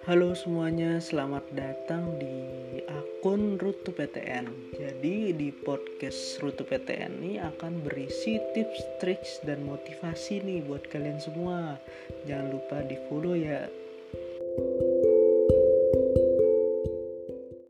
Halo semuanya, selamat datang di akun Rutu PTN. Jadi di podcast Rutu PTN ini akan berisi tips, triks, dan motivasi nih buat kalian semua. Jangan lupa di follow ya.